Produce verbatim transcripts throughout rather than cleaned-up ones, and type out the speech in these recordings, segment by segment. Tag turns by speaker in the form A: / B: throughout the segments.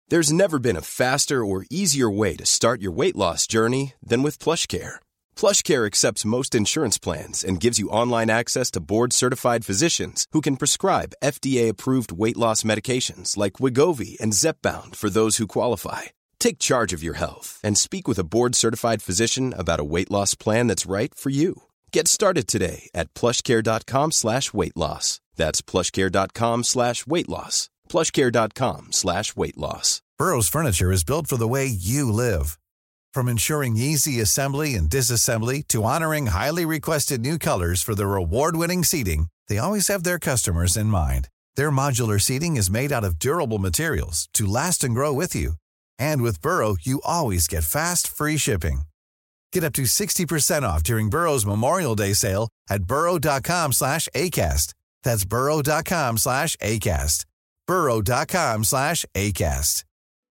A: There's never been a faster or easier way to start your weight loss journey than with PlushCare. PlushCare accepts most insurance plans and gives you online access to board-certified physicians who can prescribe F D A-approved weight loss medications like Wegovy and Zepbound for those who qualify. Take charge of your health and speak with a board-certified physician about a weight loss plan that's right for you. Get started today at plushcare.com slash weight loss. That's plushcare.com slash weight loss. plushcare.com slash weight loss.
B: Burrow's furniture is built for the way you live. From ensuring easy assembly and disassembly to honoring highly requested new colors for their award-winning seating, they always have their customers in mind. Their modular seating is made out of durable materials to last and grow with you. And with Burrow, you always get fast, free shipping. Get up to sixty percent off during Burrow's Memorial Day sale at burrow.com slash ACAST. That's burrow.com slash ACAST. burrow.com slash ACAST.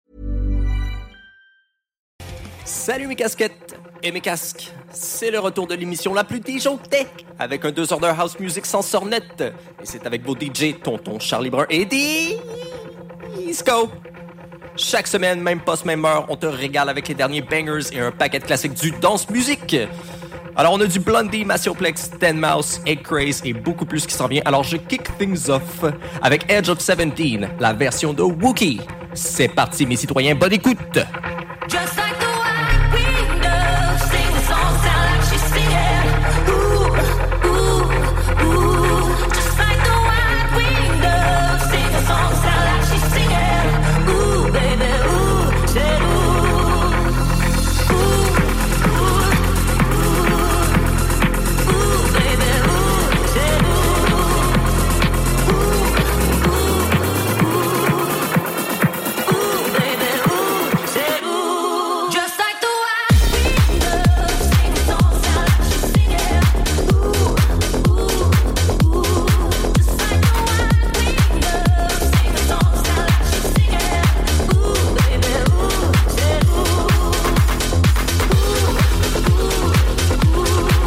C: Salut mes casquettes et mes casques, c'est le retour de l'émission la plus D J Tech avec un deux heures de house music sans sornette. Et c'est avec vos D J Tonton Charlie Brun et Disco. Chaque semaine, même poste, même heure, on te régale avec les derniers bangers et un paquet de classiques du dance musique. Alors on a du Blondie, Massioplex, Ten Mouse, Egg Craze et beaucoup plus qui s'en vient. Alors je kick things off avec Edge of dix-sept, la version de Wookie. C'est parti mes citoyens, bonne écoute.
D: Just like the white window, sing the song, sound like she's singing. Ooh, ooh, ooh. Just like the white window, sing the song, sound like she's singing. Ooh, baby, ooh, say ooh. Ooh, ooh, ooh. Ooh, baby, ooh, say ooh. Ooh, ooh, ooh. Ooh, baby, ooh, say ooh. Just like the white window, sing the song, sound like she's singing. Ooh, ooh, ooh. Just like the white window, sing the song, sound like she's singing. Ooh, baby, ooh, say ooh. Ooh, ooh, ooh.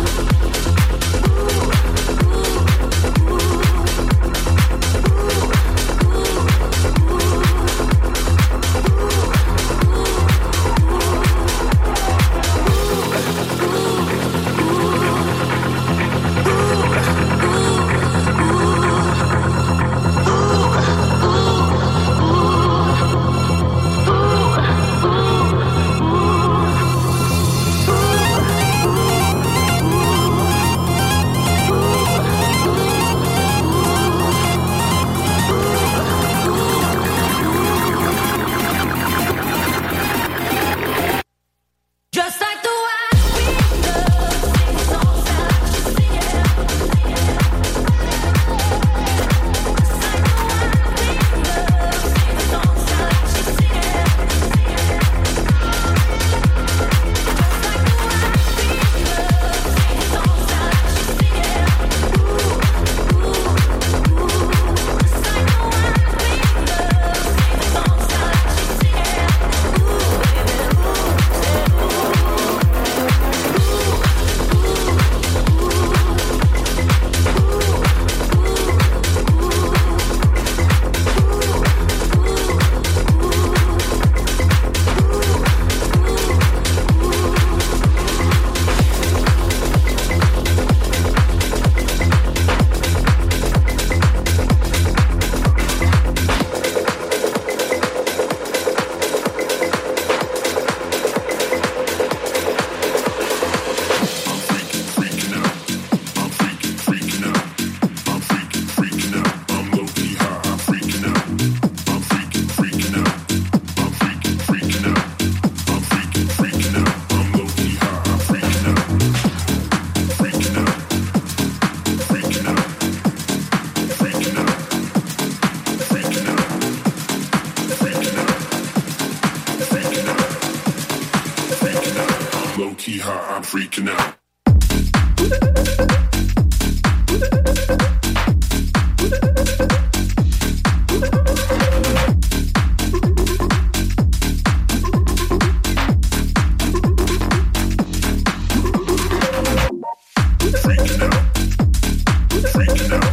D: Just like the white window, sing the song, sound like she's singing. Just like the white window, sing the song, sound like she's singing. Just like the white window, sing the song, sound like she's singing. Ooh, ooh, ooh. Just like the white window, sing the song, sound like she's singing. Ooh, baby, ooh, say ooh.
E: Low-key high, I'm freaking out.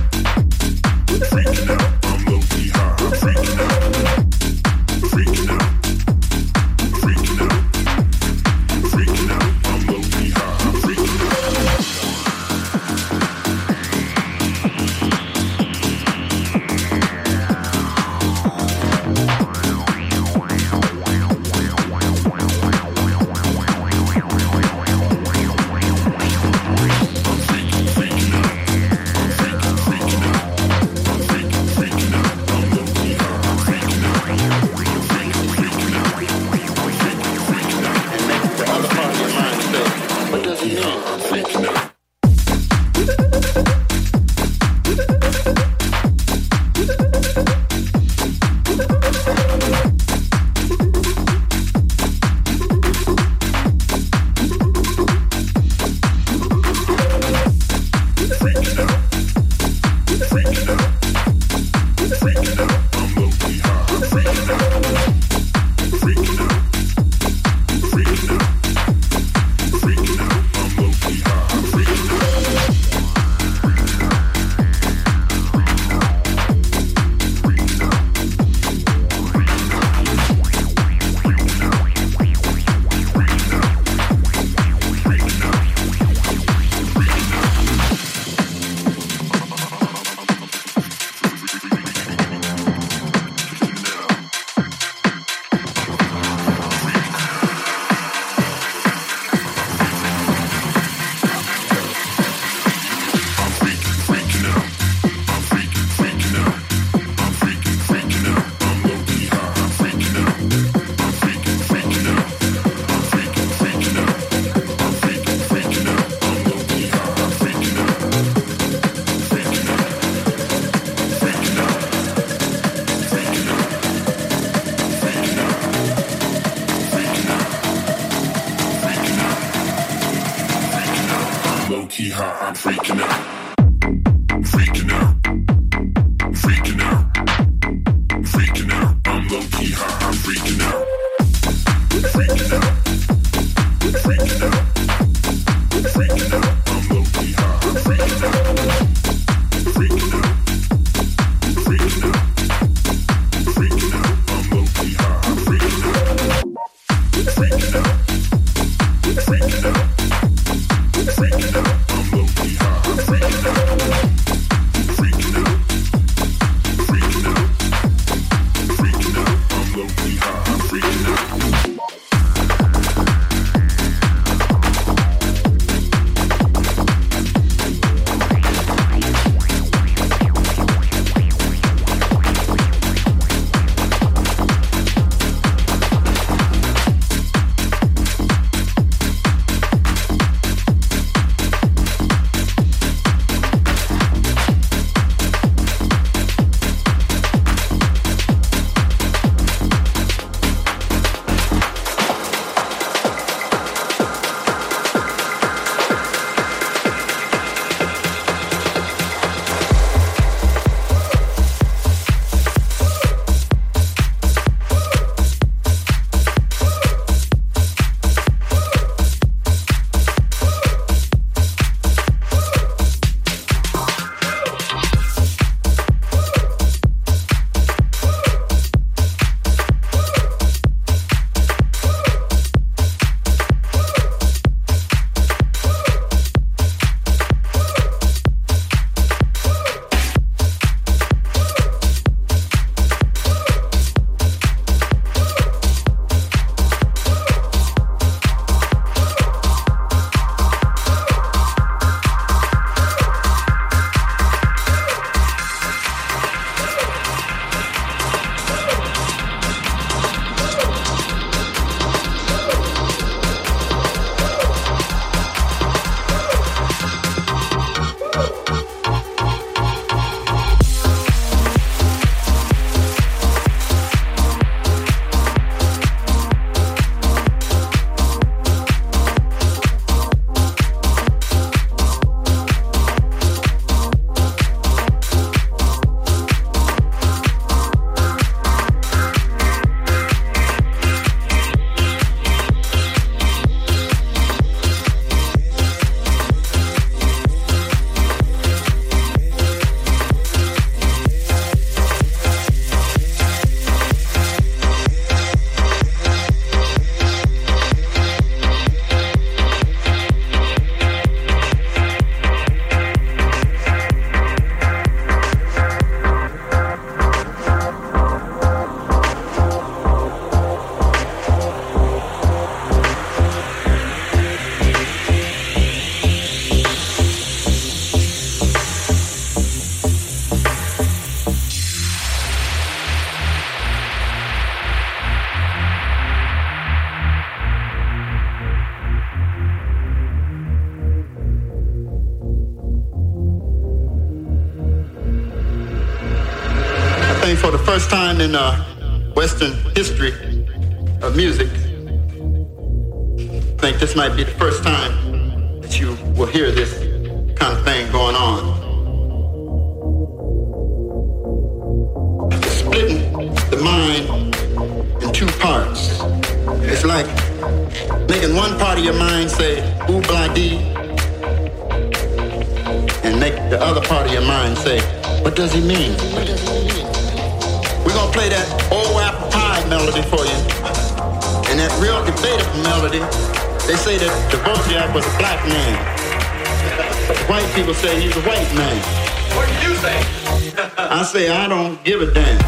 E: Freaking out, I'm low-key high, I'm freaking out, freaking out. freaking out. Freaking out. Freaking out. Freaking out. I'm low key high. I'm freaking out. Freaking out. Freaking out. Freaking out. I'm low key high. I'm freaking out. Freaking out. Freaking out. Freaking out. I'm low key high. I'm freaking out. Freaking out. Freaking out. Freaking out. I'm low key high. I'm freaking out. Freaking out. Freaking out. Freaking out. I'm low key high. I'm freaking out.
F: For the first time in uh, Western history of music, I think this might be the first time that you will hear this kind of thing going on. Splitting the mind in two parts. It's like making one part of your mind say, ooh, blah, dee, and make the other part of your mind say, what does he mean? What does he mean? We're going to play that old apple pie melody for you. And that real debatable melody, they say that Dvorak was a black man. White people say he's a white man.
G: What do you say?
F: I say I don't give a damn.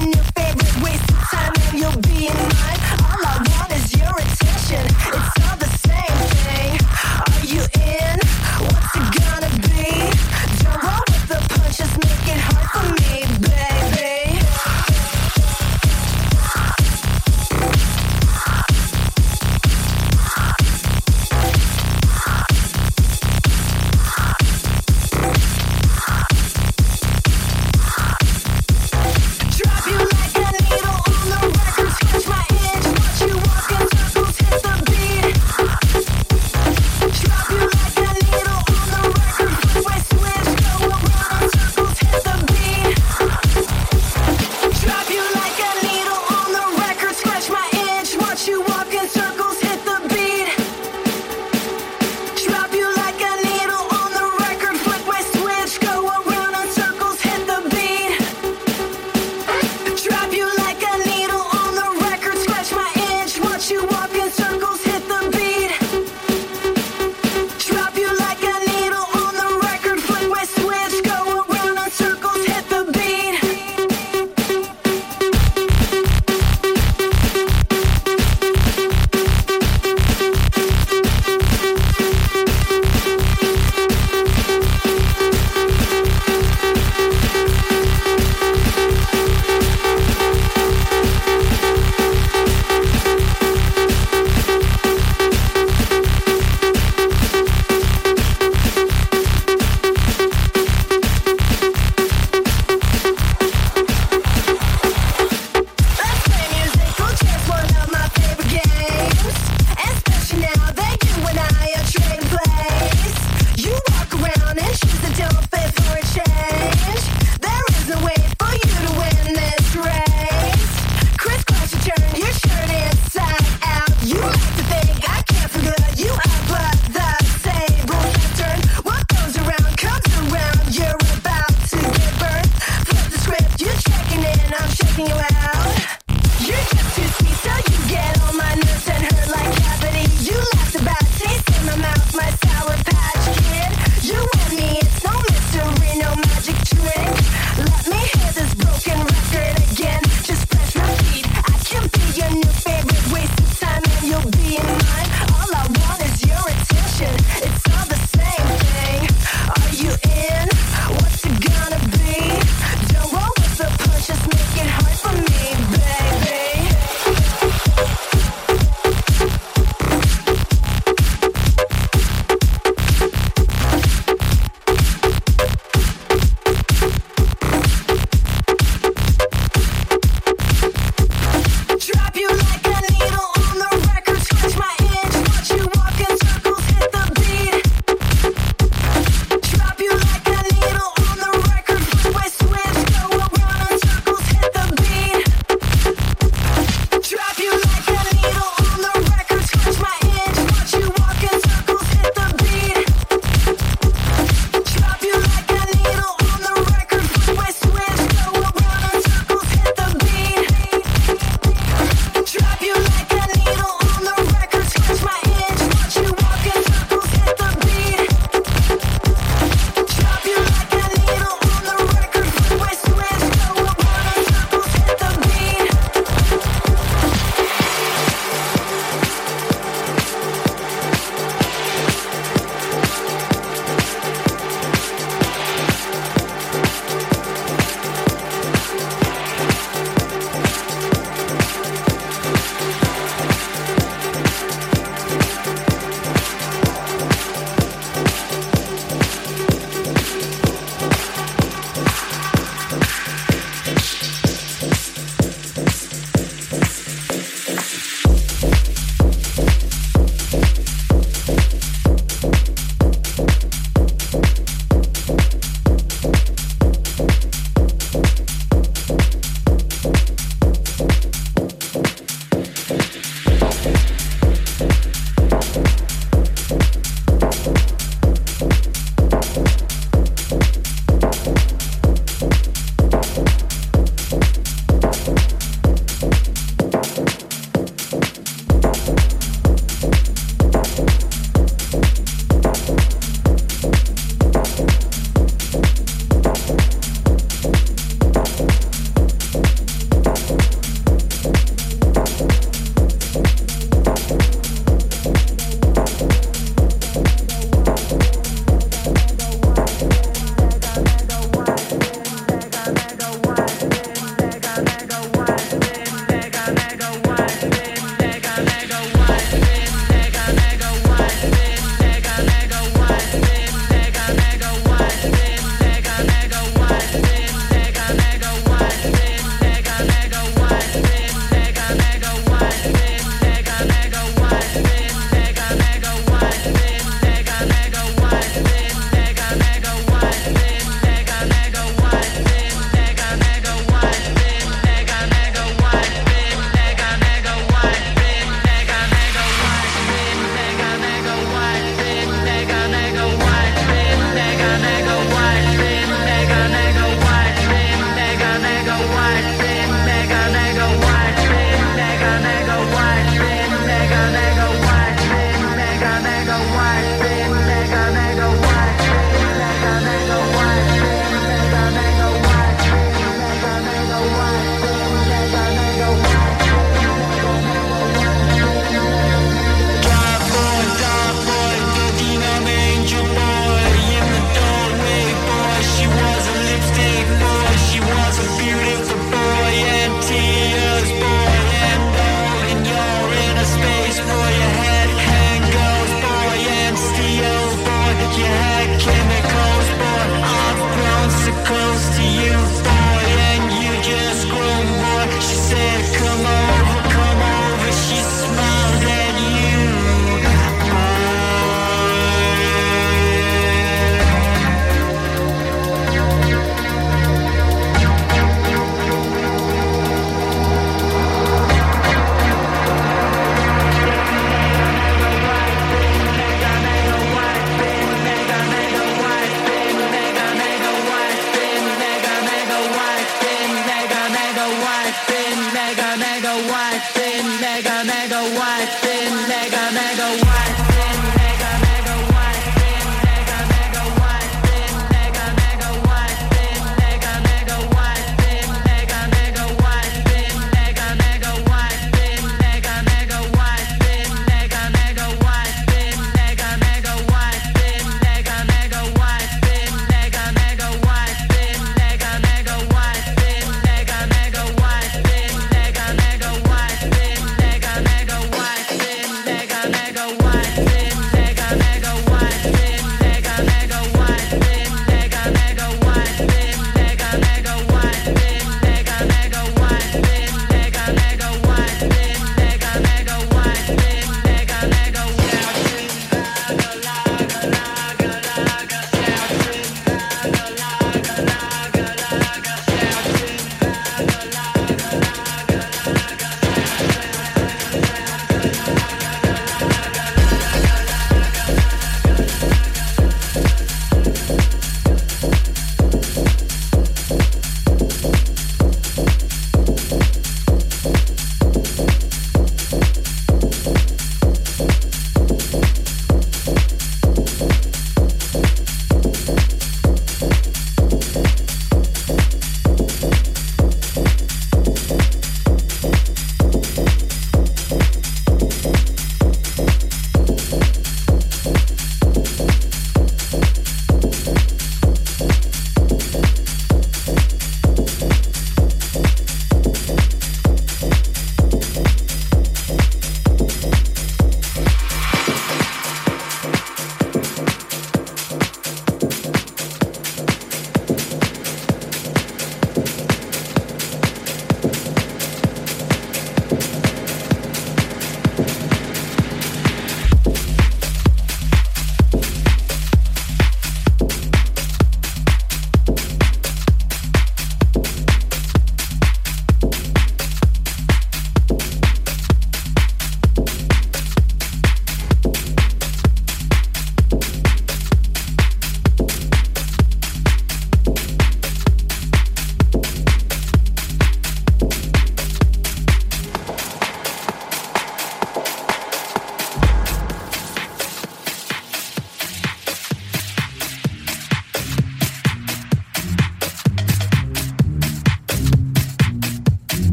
H: Just make it hard for me.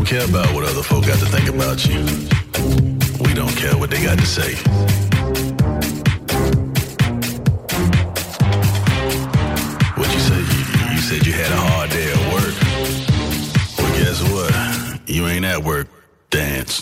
H: care about what other folk got to think about you. We don't care what they got to say. What you said? You, you said you had a hard day at work. Well, guess what? You ain't at work. Dance.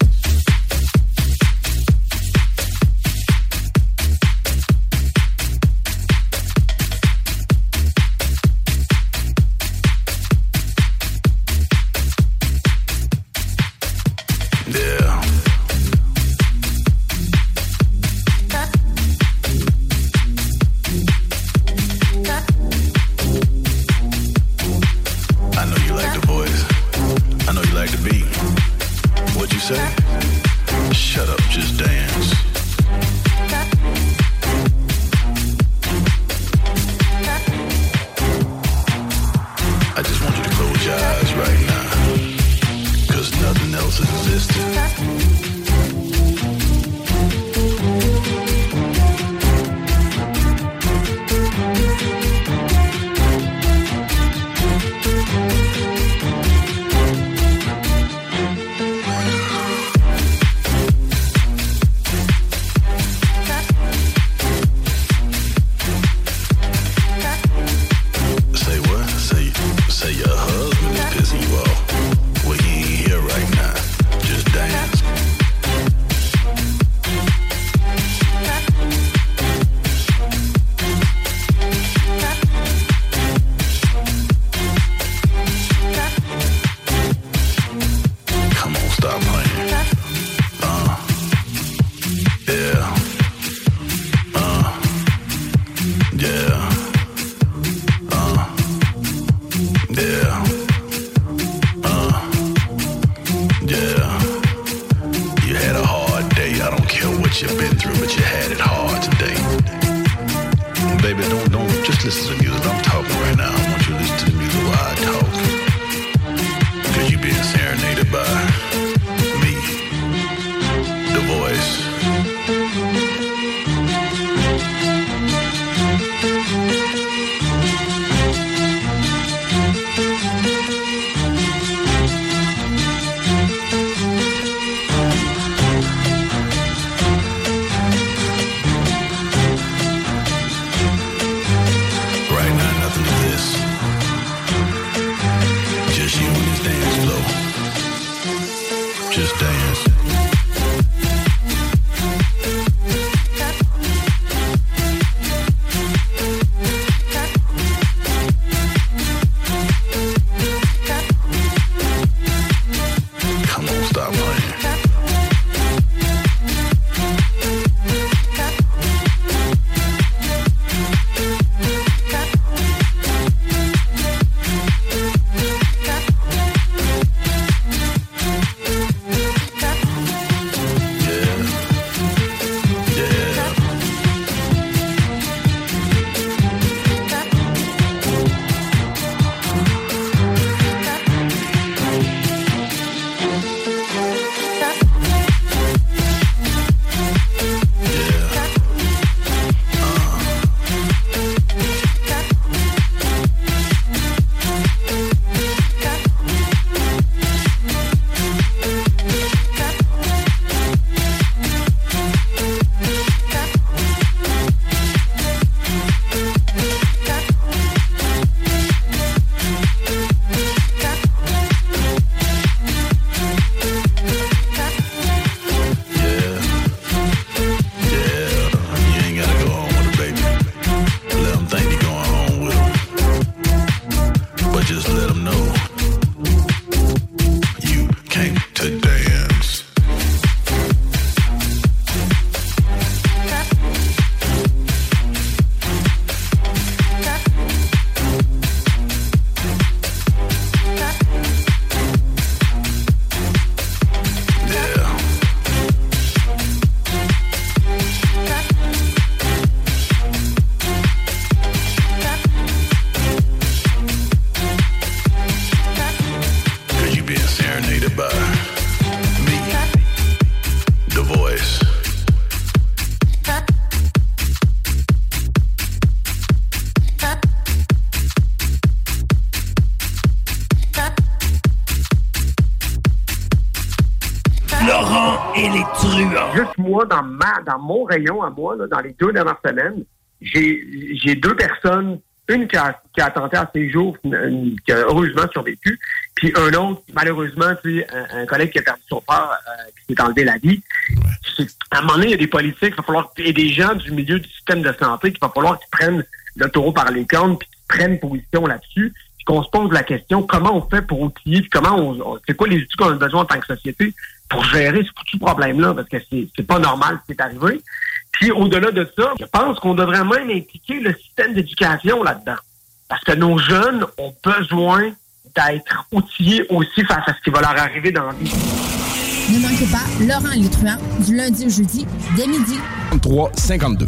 I: et les truands.
J: Juste moi, dans ma, dans mon rayon à moi, là, dans les deux dernières semaines, j'ai, j'ai deux personnes, une qui a, qui a tenté à ses jours, une, une, qui a heureusement survécu, puis un autre, malheureusement, tu sais, un, un collègue qui a perdu son père, euh, qui s'est enlevé la vie. C'est, à un moment donné, il y a des politiques, il va falloir, et des gens du milieu du système de santé, qu'il va falloir qu'ils prennent le taureau par les cornes, puis qu'ils prennent position là-dessus, puis qu'on se pose la question, comment on fait pour outiller, puis comment on, on c'est quoi les outils qu'on a besoin en tant que société pour gérer ce foutu problème-là, parce que c'est, c'est pas normal ce qui est arrivé. Puis au-delà de ça, je pense qu'on devrait même impliquer le système d'éducation là-dedans. Parce que nos jeunes ont besoin d'être outillés aussi face à ce qui va leur arriver dans la vie.
K: Ne manquez pas Laurent et les truands du lundi au jeudi dès midi.
L: trente-trois cinquante-deux.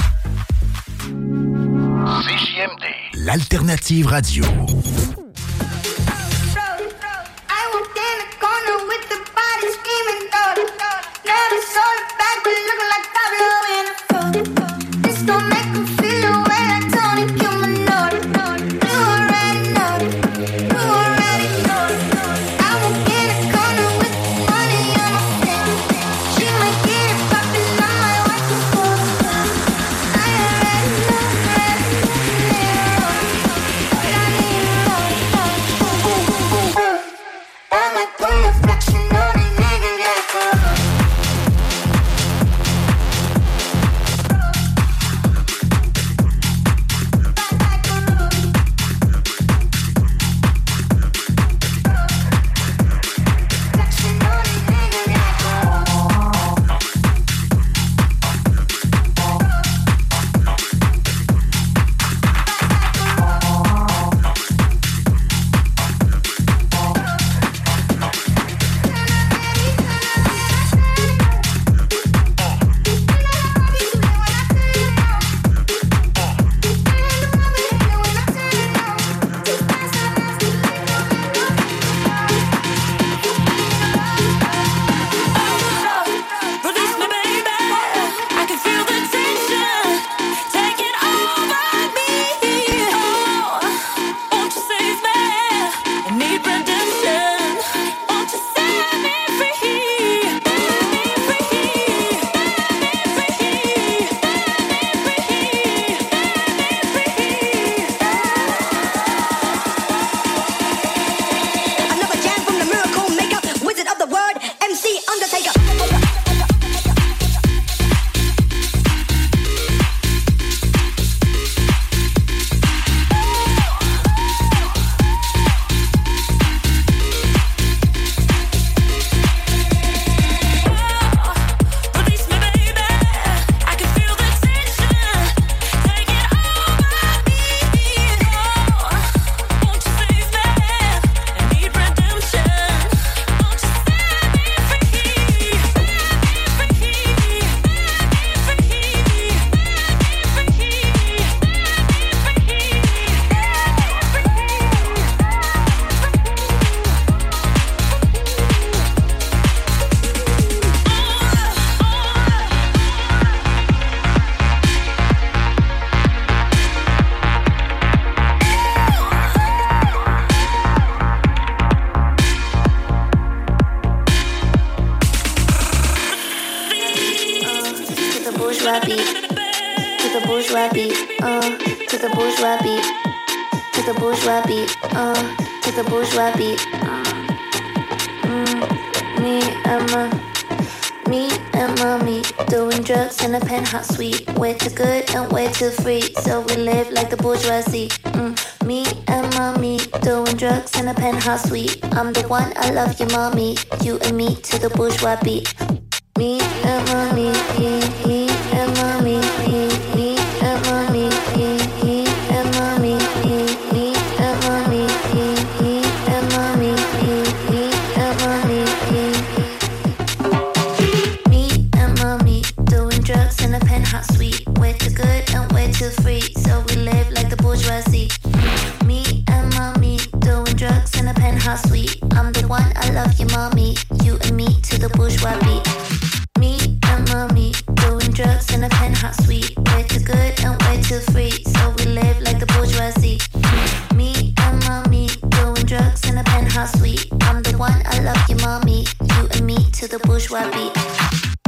M: C J M D, l'alternative radio.
N: Hot sweet, way too good and way too free. So we live like the bourgeoisie. Mm, me and mommy doing drugs in a penthouse suite. I'm the one, I love you, mommy. You and me to the bourgeois beat. Me and mommy, me, me and mommy, me, me and mommy, me, me and mommy, me, me and mommy, me, me and mommy, me, me and mommy, me. Me and mommy doing drugs in a penthouse suite. Way too good and way too free. So we live like the bourgeoisie. Me and mommy doing drugs in a penthouse suite. I'm the one, I love you, mommy. You and me to the bourgeois beat. Me and mommy doing drugs in a penthouse suite. Way too good and way too free. So we live like the bourgeoisie. Me and mommy doing drugs in a penthouse suite. I'm the one, I love you, mommy. You and me to the bourgeois beat.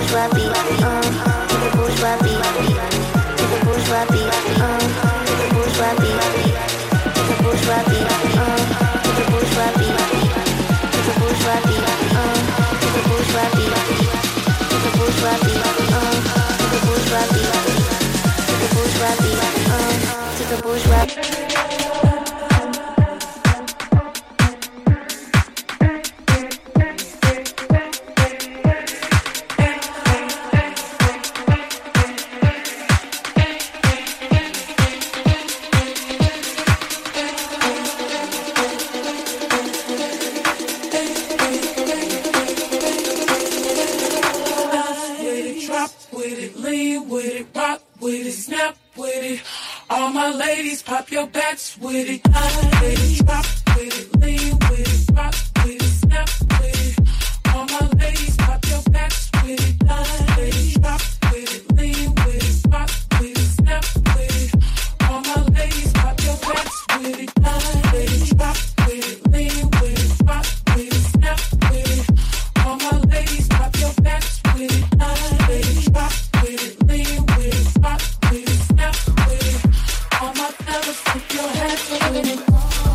N: bourgeois beat, uh, to the bourgeois beat, to the bourgeois beat, uh, to the bourgeois beat, to the bourgeois beat, uh, to the bourgeois beat, to the bourgeois beat, uh, to the bourgeois beat, to the bourgeois beat, uh, to the bourgeois beat, to the bourgeois beat, uh, to the bourgeois.
I: Pop your backs with it, line with it, drop with it, lean with it, rock with it, snap with it. All my ladies, pop your backs with it, line with it, drop with it, lean with it, rock with it, snap with it. All my ladies, pop your backs with it, line with it, drop with it, lean with it, rock with it, snap with it. All my ladies, pop your backs with it, line with it, drop with it, lean with it, rock with it, snap with it. All my fellas, put your hands with it.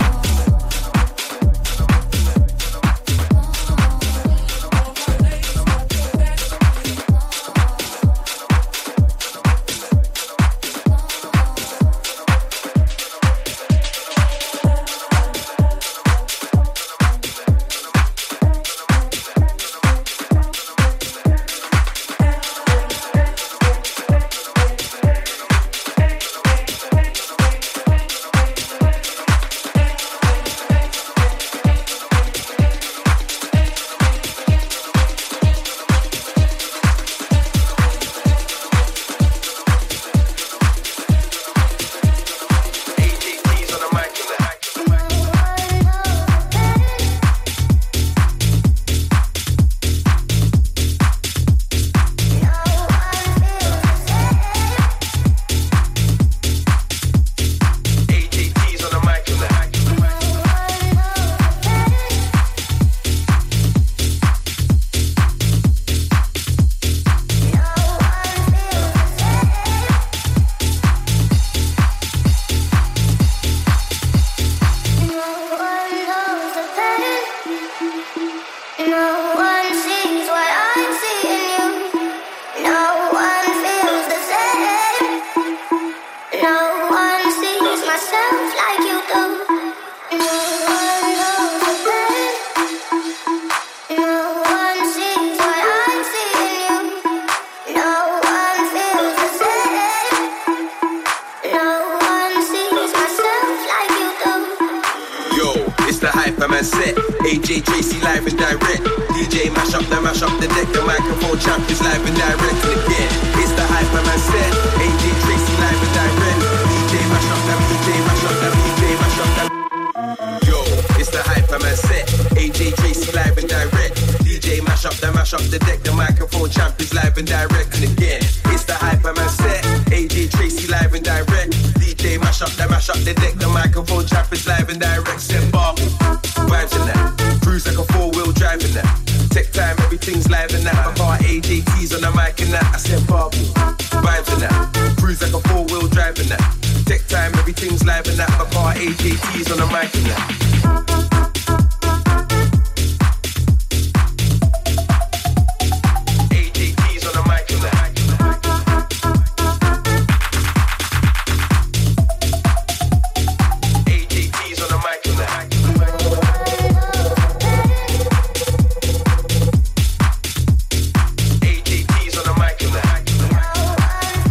L: A J Tracy live and direct. D J mash up, the mash up the deck. The microphone champ is live and direct again. It's the Hyperman set. A J Tracy live and direct. D J mash up, that D J mash up, that D J mash up, that. Yo, it's the Hyperman set. A J Tracy live and direct. D J mash up, the mash up the deck. The microphone champ is live and direct again. It's the Hyperman set. A J Tracy live and direct. D J mash up, the mash up the deck. The microphone champ is live and direct. Set bar. Vibes in that. Cruise like a four-wheel drive in that. Tech time, everything's live in that. My car A J T's on the mic in that. I said Barbie. Vibes in that. Cruise like a four-wheel drive in that. Tech time, everything's live in that. My car A J T's on the mic in that.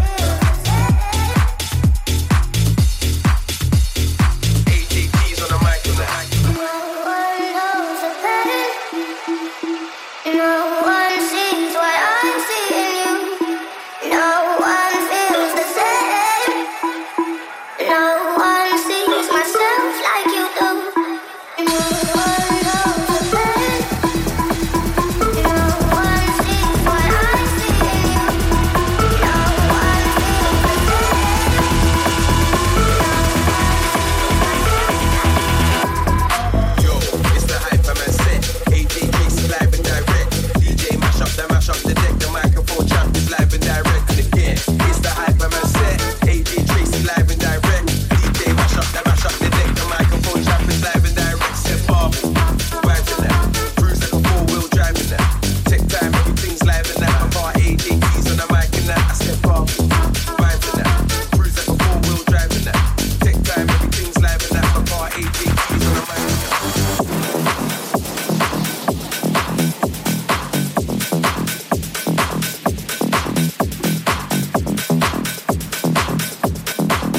L: On the mic.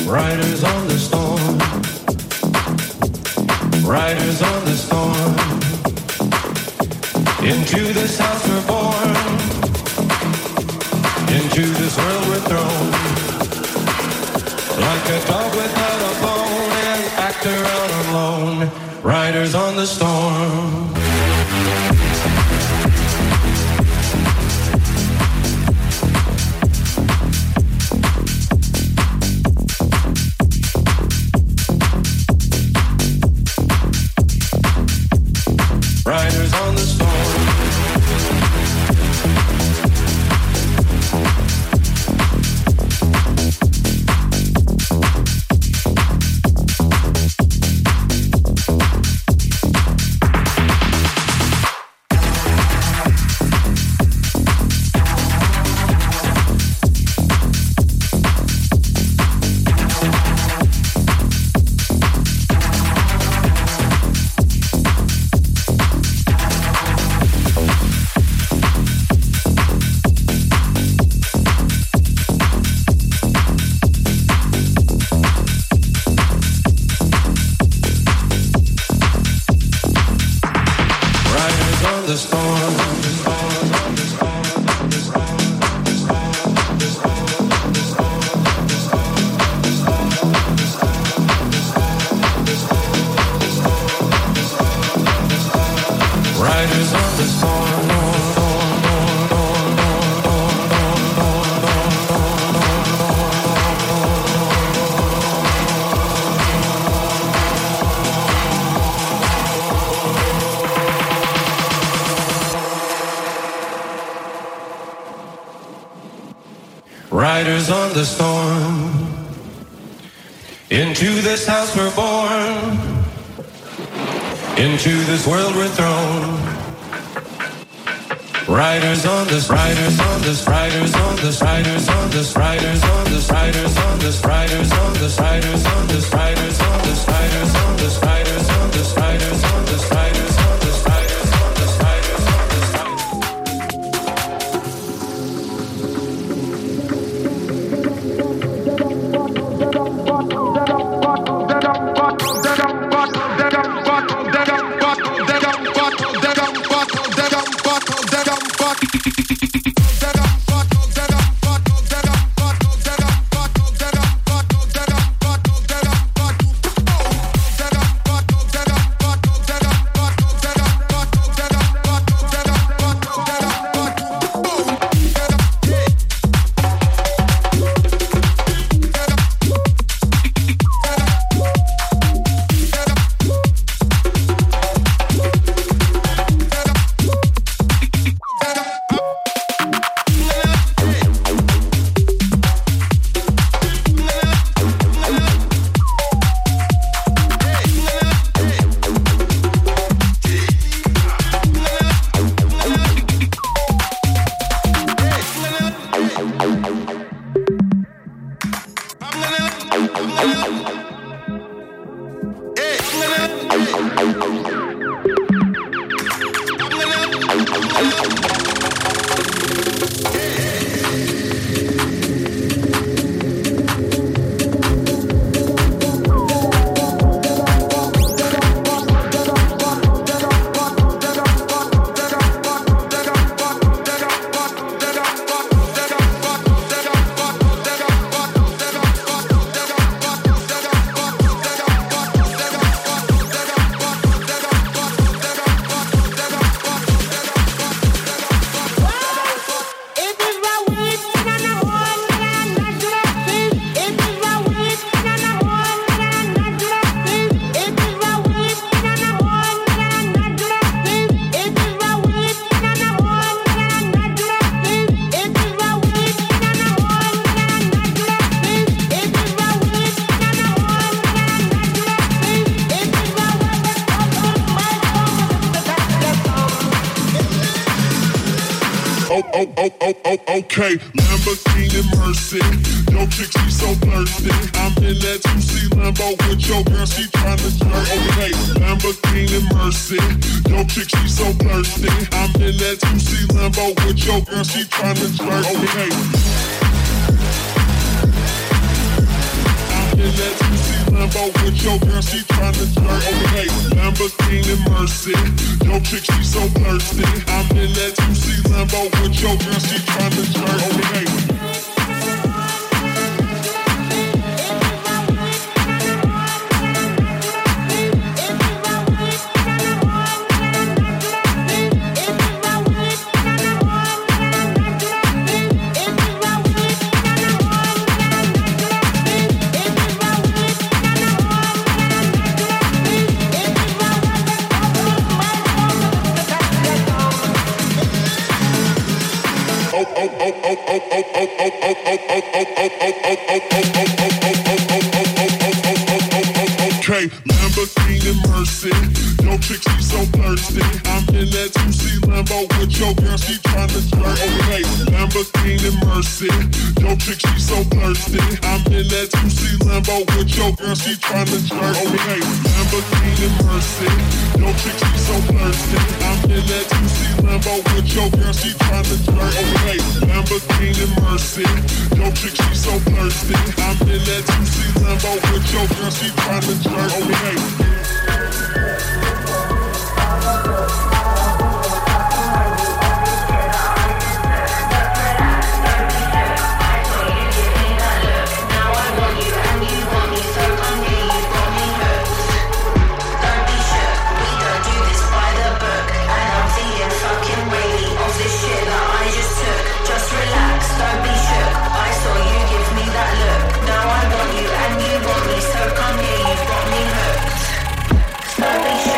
O: Riders on the storm. Riders on the storm. Into this house we're born. Into this world we're thrown. Like a dog without a bone, an actor out alone. Riders on the storm. Riders on the storm. Riders on the storm. Into this house we're born. Into this world we're thrown. Riders on this, riders on this, riders on this, riders on this, riders on this, riders on this, riders on this, riders on this, riders on this, riders on this, riders on this, riders on this, riders on this, riders on this, riders on this, riders.
E: oh, oh, oh, oh, okay. Lamborghini Mercy. Yo, chick, she so thirsty. I'm in that two C Lambo with your girl, she tryna jerk. Okay, Lamborghini Mercy. Yo, chick, she so thirsty. I'm in that two C Lambo with your girl, she tryna jerk. Okay. I'm in that two C Lambo with your girl, she tryna flirt. Okay, Lamborghini Mercy, your chick, she so thirsty. I'm in that two C Lambo with your girl, she tryna flirt. Okay. Okay, Lamborghini Mercy, your chick, she so thirsty. I'm in that two C Lambo with your girl, she tryna flirt. Okay, Lamborghini Mercy, your chick, she so thirsty. I'm in that two C Lambo with your girl, she tryna flirt. Okay, Lamborghini Mercy, your chick, she so thirsty. I'm in that two C Lambo with your girl, she tryna flirt. Okay, Lamborghini Mercy, your chick, she so thirsty. I'm in that two C Lambo with your girl, she tryna flirt. Okay.
D: So be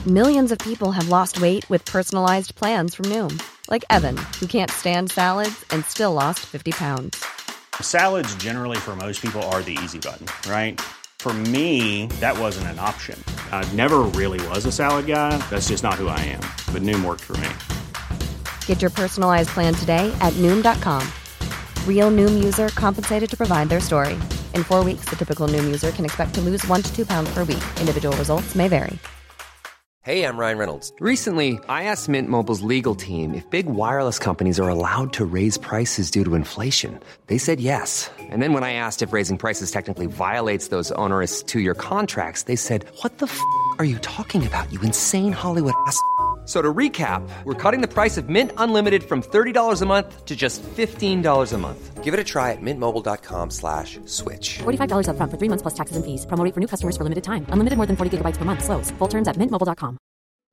P: Millions of people have lost weight with personalized plans from Noom. Like Evan, who can't stand salads and still lost fifty pounds.
Q: Salads generally for most people are the easy button, right? For me, that wasn't an option. I never really was a salad guy. That's just not who I am. But Noom worked for me.
P: Get your personalized plan today at Noom dot com. Real Noom user compensated to provide their story. In four weeks, the typical Noom user can expect to lose one to two pounds per week. Individual results may vary.
R: Hey, I'm Ryan Reynolds. Recently, I asked Mint Mobile's legal team if big wireless companies are allowed to raise prices due to inflation. They said yes. And then when I asked if raising prices technically violates those onerous two-year contracts, they said, what the f*** are you talking about, you insane Hollywood ass f- So to recap, we're cutting the price of Mint Unlimited from thirty dollars a month to just fifteen dollars a month. Give it a try at mintmobile.com slash switch.
S: forty-five dollars up front for three months plus taxes and fees. Promo rate for new customers for limited time. Unlimited more than forty gigabytes per month. Slows full terms at mint mobile dot com.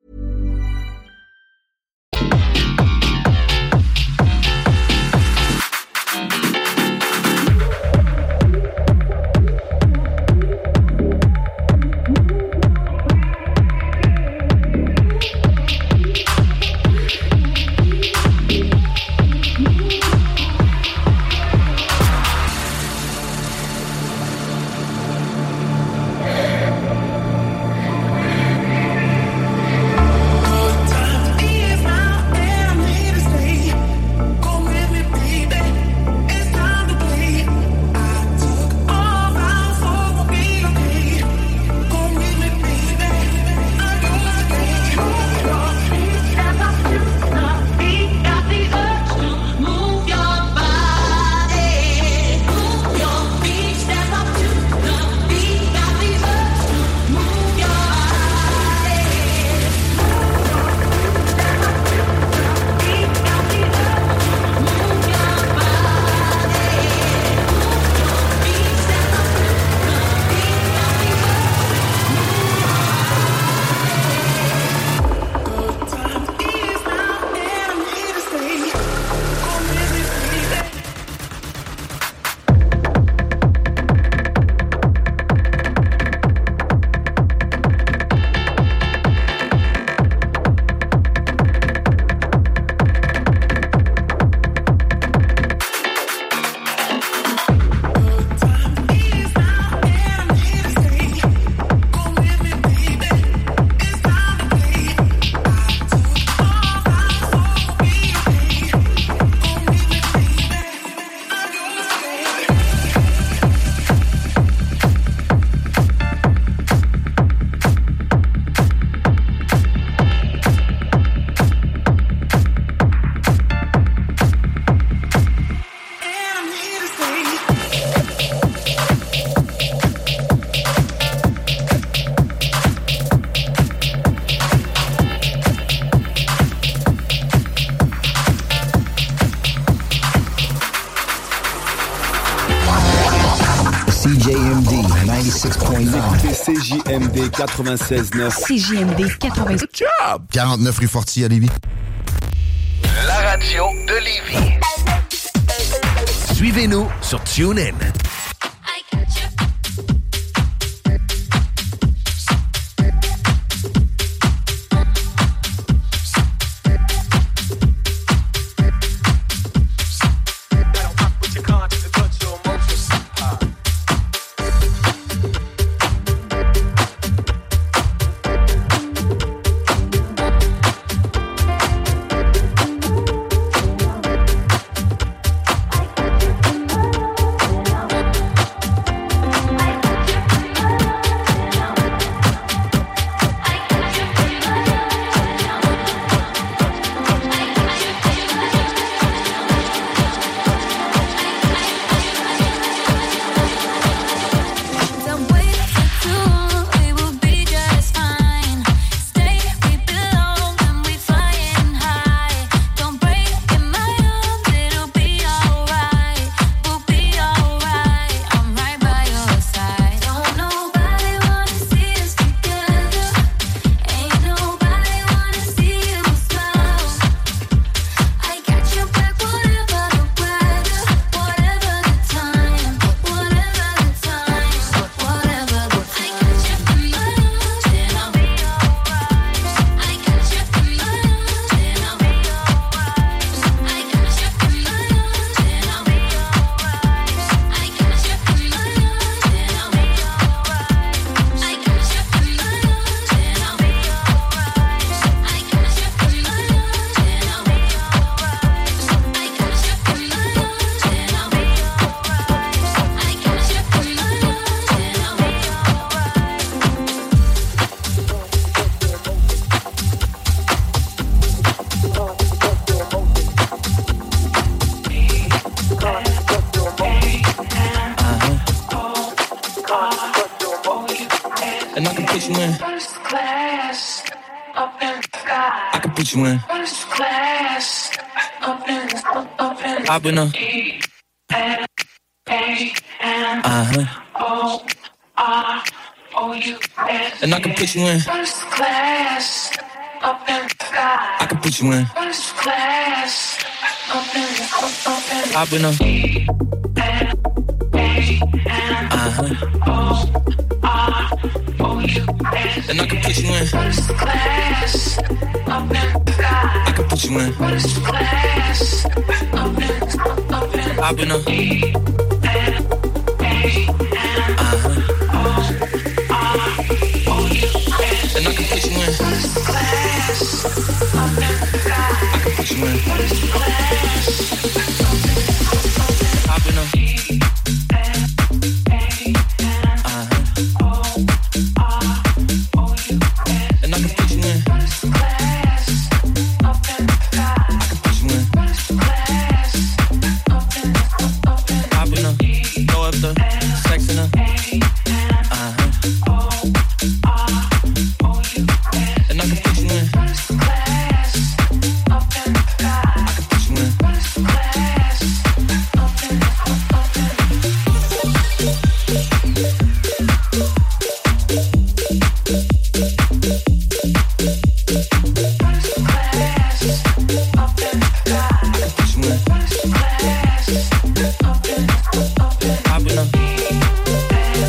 M: C J M D ninety-six point nine.
T: C J M D quatre-vingt-seize neuf.
K: C J M D quatre-vingt-seize.
T: Good job!
M: quarante-neuf rue Forti à Lévis.
U: La radio de Lévis.
M: Suivez-nous sur TuneIn.
O: And I can put you in.
I: First class, up in the sky.
O: I can put you in.
I: First class, up in the, up in the
O: I've been a.
I: E N A N
O: Uh-huh.
I: O R O U S.
O: And I can put you in.
I: First class, up in the sky.
O: I can put you in.
I: First class, up in the, up in the
O: I've been a.
I: E N A N
O: Uh-huh.
I: O R O U S.
O: And I can put you in.
I: First class, up in the sky.
O: I can put you in.
I: First class, up in the, up in the
O: I've been a.
I: E N A N O R O U S.
O: And I can put you in.
I: First class, up in the sky.
O: I can put you in.
I: First class,
O: I've been a. And I can put you in.
I: first class, up in the sky.
O: I can put you in.
I: First class, up in the, up in the
O: I've been a. Throw up the sex in a. Uh-huh. And I can put you in.
I: first class, up in the sky.
O: I can put you in.
I: First class, up in the, up in the first class, up in the sky.
O: I can put you in.
I: First class, up in the, up in the
O: I've been a.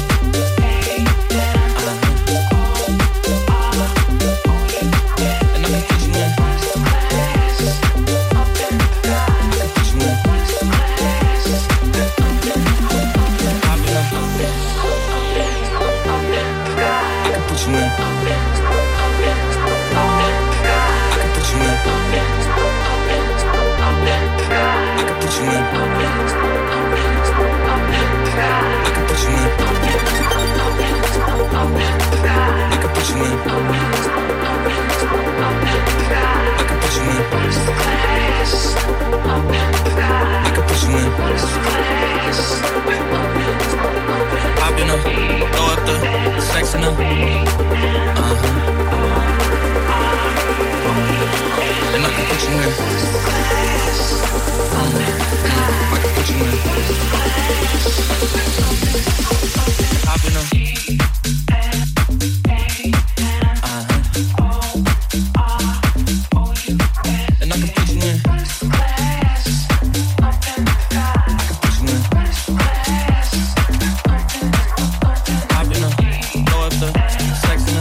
O: And I can put you in.
I: first class, up in the sky.
O: I can put you in.
I: First class, up in the,
O: I've been a. I can put you in. I can put you in. I can put you in. I can put you in. I can put you in. I can put you in.
I: first class, up in the sky.
O: I can put you in.
I: First class, up in the
O: I've been a. Throw up the sex in a. Uh-huh. And I can put you in. I can put you in. I've been a. Uh-huh. And I can put you in.
I: first class, up in the sky.
O: I can put you in.
I: First class, up in the, up in the
O: I've been a. Throw up the sex in a.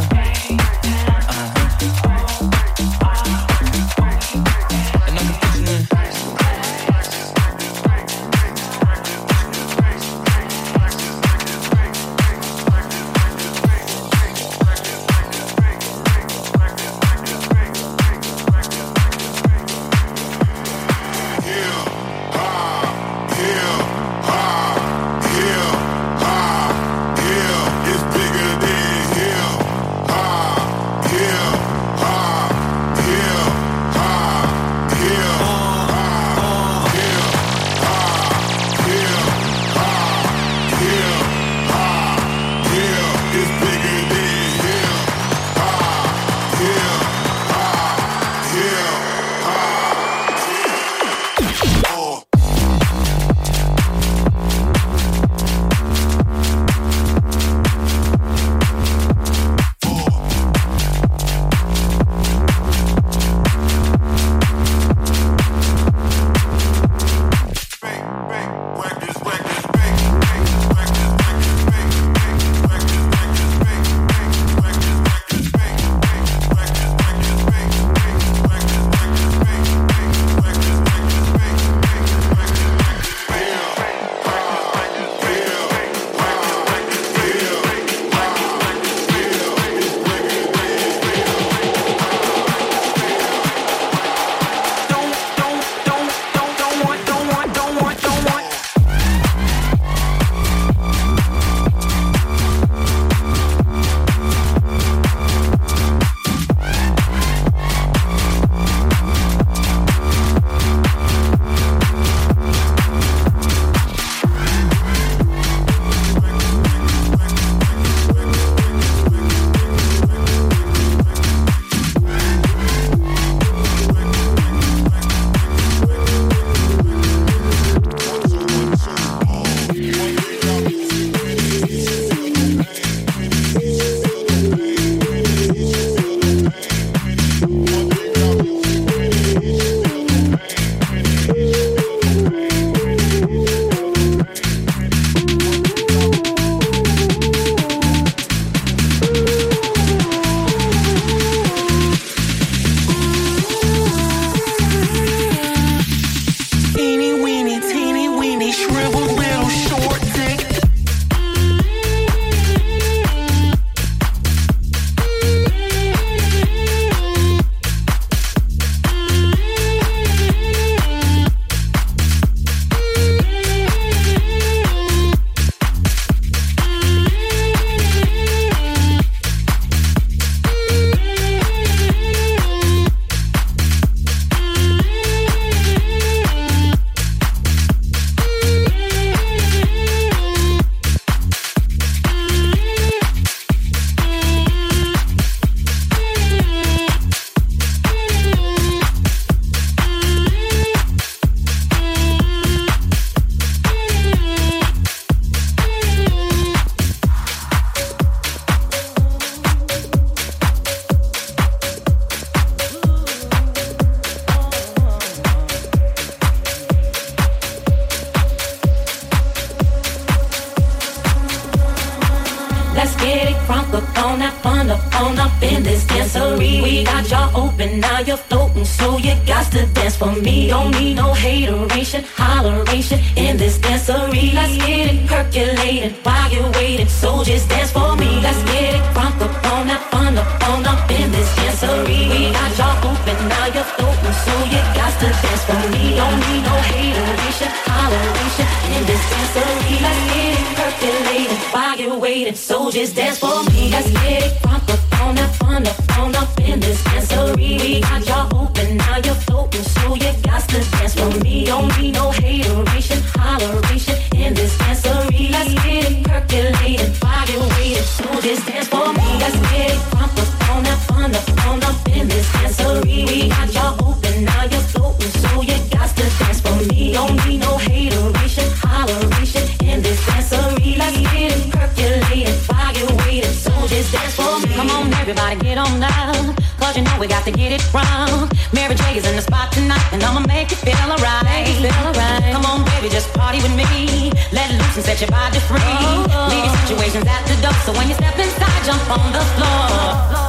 D: Let's get it crunk up on that fun up on up in this dancery. We got y'all open, now you're floating, so you got to dance for me. Don't need no hateration, holleration in this dancery. Let's get it percolated while you're waiting, so just dance for me. Let's get it crunk up on that fun up on up in this dancery. We got y'all open, now you're floating, so you got to dance for me. Don't need no hateration, holleration in this dancery. Let's get it percolated while you're waiting, so just dance for me. Let's get it crunk up on that fun up on up in this dancery. We got y'all open, now you're floating, so you got to dance for me. Don't need no hateration, holleration in this dancery. Let's get it percolated while you're waiting, so just dance for me. Let's get it crunk up on that fun up on up in this dancery. We got y'all open, now you're floating, so you got to dance for me. Don't need no hateration, holleration in this dancery. Let's get it percolated while you're waiting, so just dance for me. Come on, everybody, get on down, cause you know we got to get it wrong. Mary J is in the spot tonight, and I'ma make you feel alright. Feel alright. Come on, baby, just party with me. Let loose and set your body free. Oh, oh. Leave your situations at the door, so when you step inside, jump on the floor.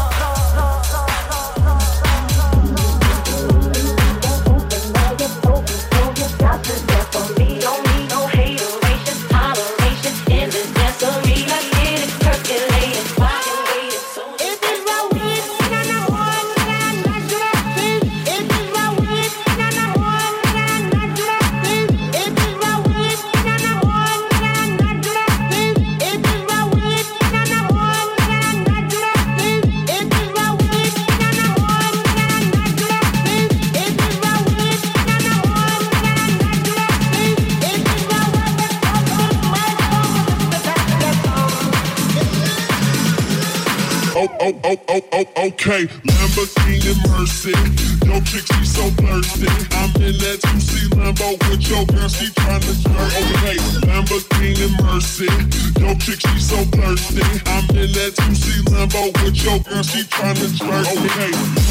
E: Oh, oh, oh, oh, okay. Lamborghini Mercy. Yo, chick, she so thirsty. I'm in that two C Lambo with your girl, she tryna flirt. Okay, Lamborghini Mercy. Yo, chick, she so thirsty. I'm in that two C Lambo with your girl, she tryna flirt. Okay.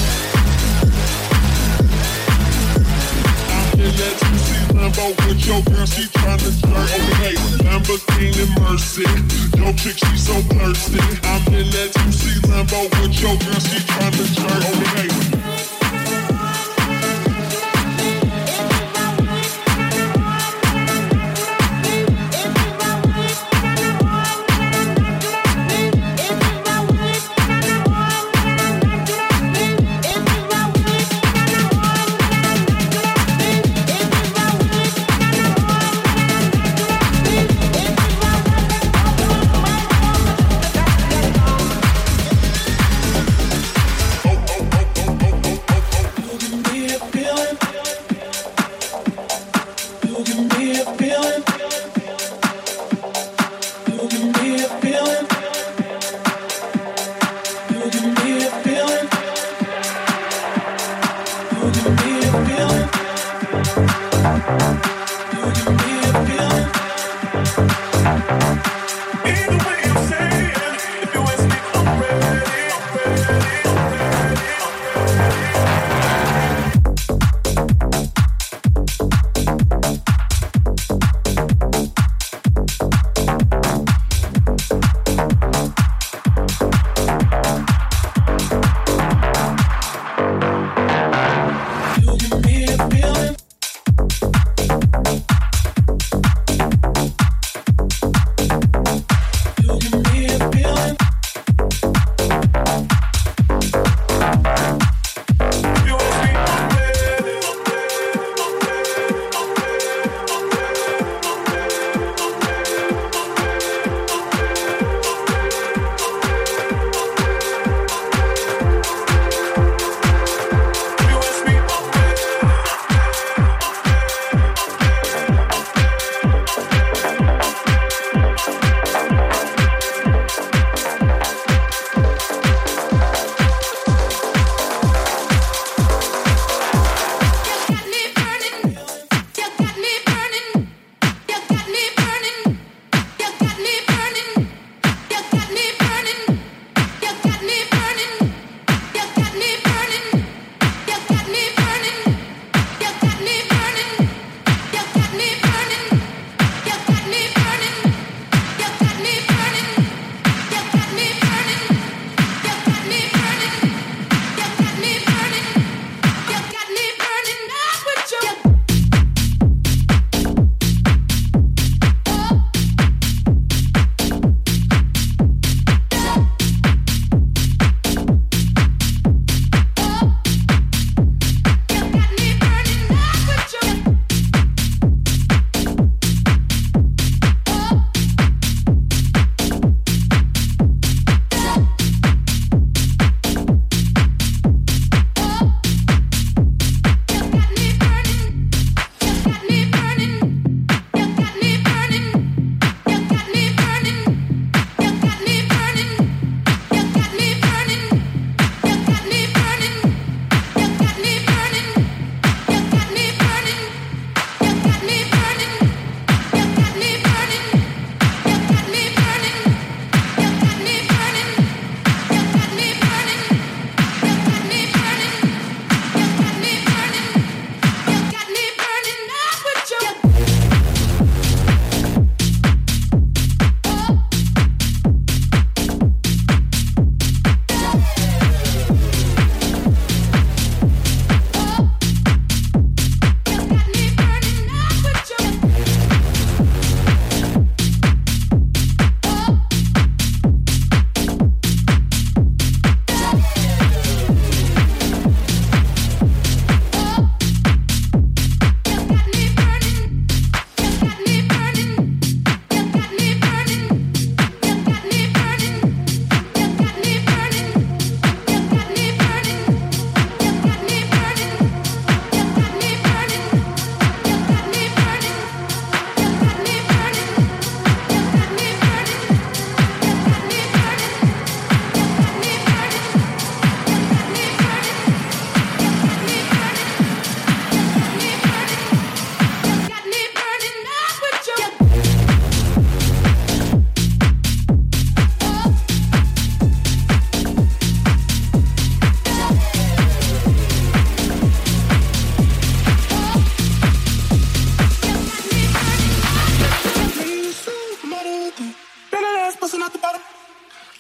E: I'm in that two C Lambo with your girl, she tryna flirt. Okay, Lamborghini Mercy. Yo, chick, she so thirsty. I'm in that two C Lambo with your girl, she tryna flirt. Okay.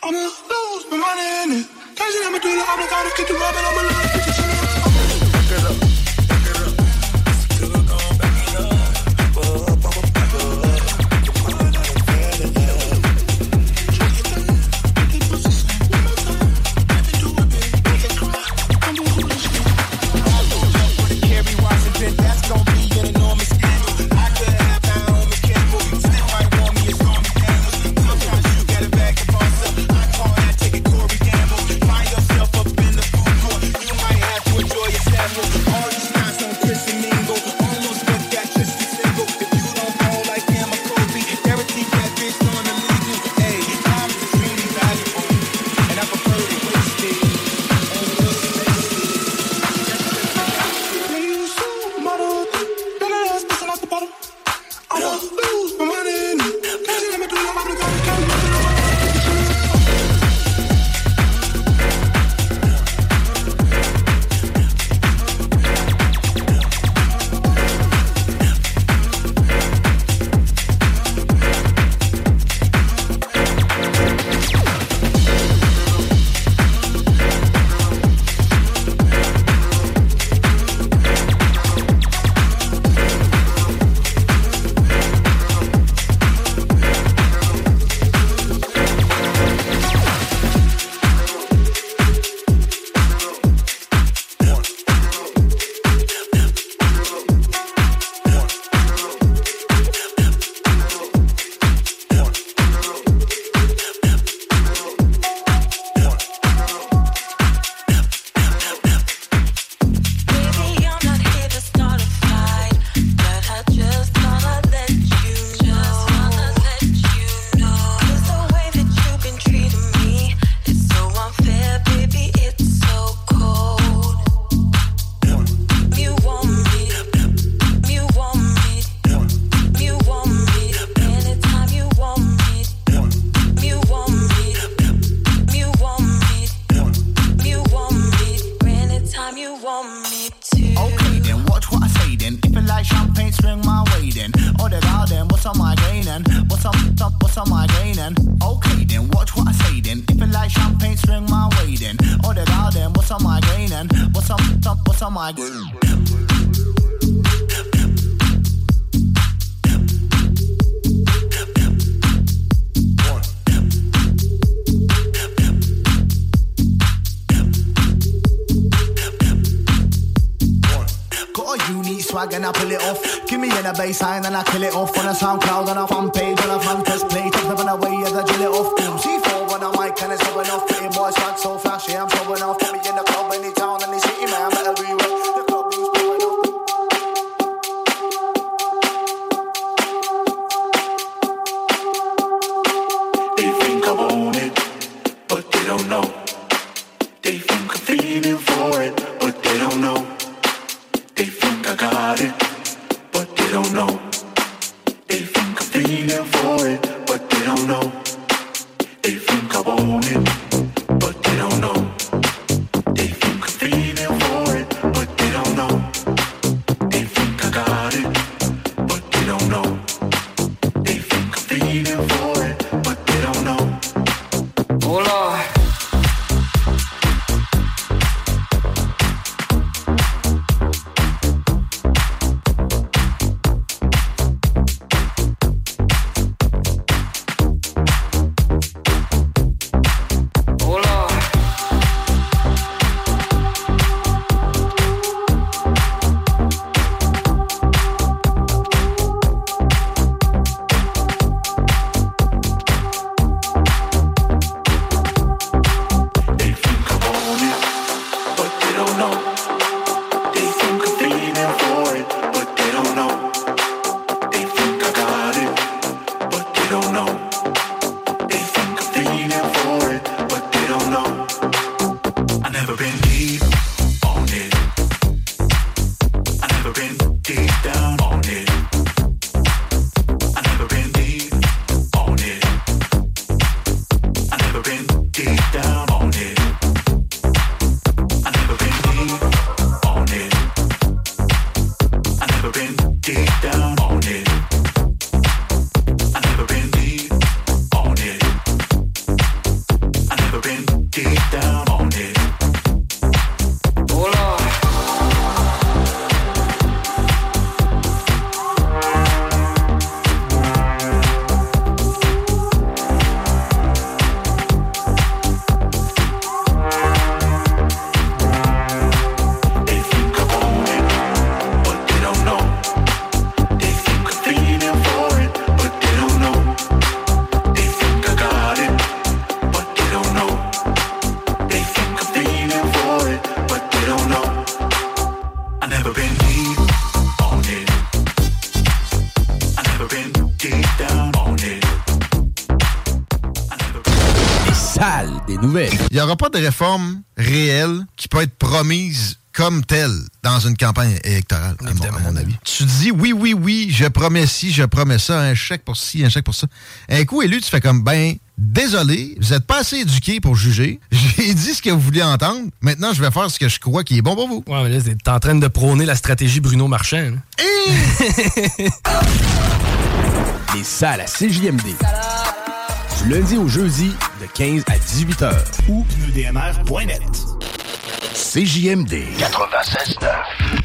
I: I'ma lose my money in it. Cause I'ma do the obligado, get the rub and I'ma love it. Get up.
A: And I pull it off. Give me in a baseline and I kill it off. On a SoundCloud and a fan page and a fan test play. Take them away as I drill it off. Boom, C four on a mic and it's going off. Pretty boy swag so flashy, I'm showing off. Put me in the club, any town, any city, man, better be well. The club is blowing up.
E: They think I want it, but they don't know. They think I'm feeling for it, but they don't know. They think I got it, but they don't know. They think I'm feeling for it, but they don't know. They think I want it, but they don't know. They think I'm feeling for it, but they don't know. They think I got it, but they don't know. They think I'm feeling for it, but they don't know. Oh Lord. get down on it.
A: Hold on.
B: Des nouvelles. Il n'y aura pas de réforme réelle qui peut être promise comme telle dans une campagne électorale, à mon, à mon avis. Tu dis oui, oui, oui, je promets ci, je promets ça, un chèque pour ci, un chèque pour ça. Un coup élu, tu fais comme, ben, désolé, vous n'êtes pas assez éduqué pour juger. J'ai dit ce que vous vouliez entendre. Maintenant, je vais faire ce que je crois qui est bon pour vous.
V: Ouais, mais là, t'es en train de prôner la stratégie Bruno Marchand.
B: Les salles à C J M D. Du lundi au jeudi, de quinze à dix-huit heures. Ou E D M R point net. C J M D quatre-vingt-seize neuf.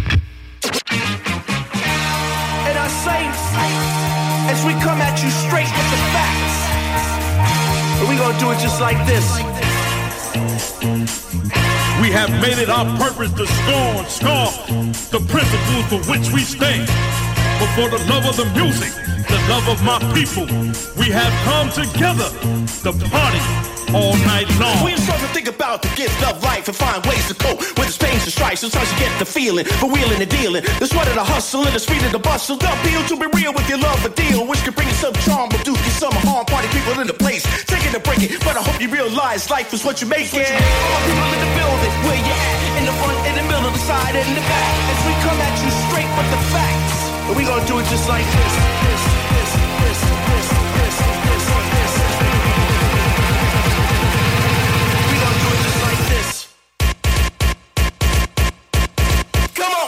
A: And our saints, as we come at you straight with the facts, we gonna do it just like this.
E: We have made it our purpose to scorn, scorn the principles for which we stand. But for the love of the music, the love of my people, we have come together to party all night long.
A: We start to think about the gift of life and find ways to cope with the pains and stripes. Sometimes you get the feeling for wheeling and dealing. The sweat of the hustle and the speed of the bustle. The appeal to be real with your love a deal, which can bring you some charm, but do you some harm. Party people in the place, taking to break it. But I hope you realize life is what you make it. All people in the building, where you at? In the front, in the middle, the side, and the back. As we come at you straight with the facts. And we gonna do it just like this, this, this, this, this, this, this, this. We gonna do it just like this. Come on.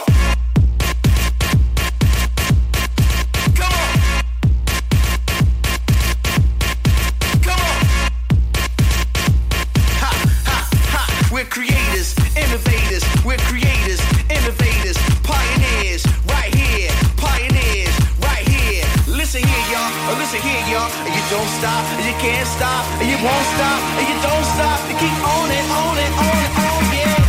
A: Come on. Come on. Ha, ha, ha. We're creators, innovators. We're creators, innovators, pioneers. Right here. Pioneers, right here. Listen here, y'all. Oh, listen here, y'all. You don't stop, you can't stop, you won't stop, you don't stop. You keep on it, on it, on it, on, yeah.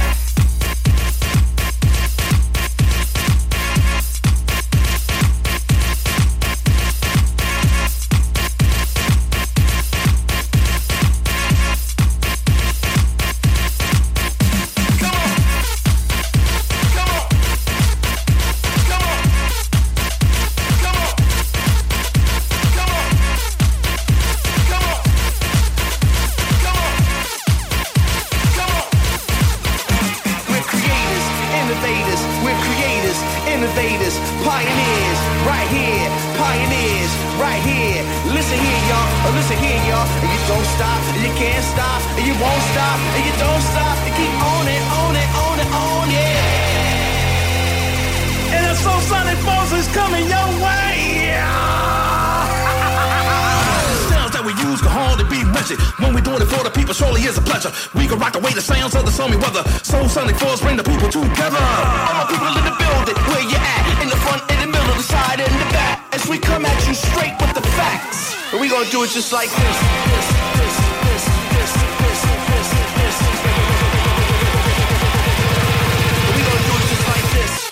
A: When we doing it for the people, surely is a pleasure. We can rock away the sounds of the stormy weather. Soul Sonic Force bring the people together. All my people in the building, where you at? In the front, in the middle, the side, and the back. As we come at you straight with the facts. And we gonna do it just like this. This, this, this, this, this, this, this. And we gonna do it just like this.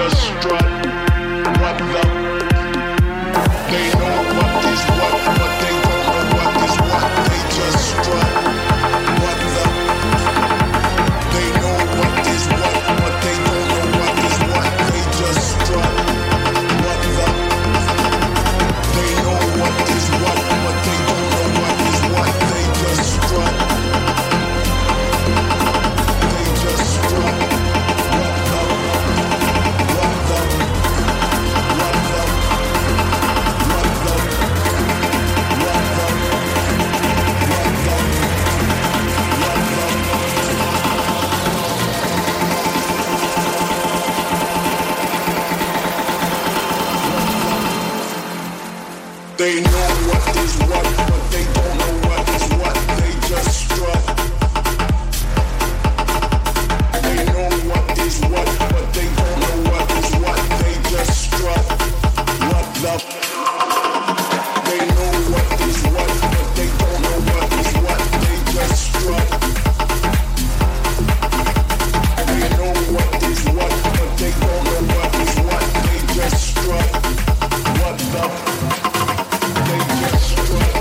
E: just strut. What the? They know what is what, but they don't know what is what. They just strut. What the? They know what is what, but they don't know what is what. They just strut. What the? They know what is what, but they don't know what is what. They just strut. They just strut. What the? What the? What the? What the? What the? They know what is what, but they don't know what is what. They just strut. They know what is what, but they don't know what is what. They just strut. What the? They know what is what, but they don't know what is what. They just strut. They know what is what, but they don't know what is what. They just strut. What the? They just strut.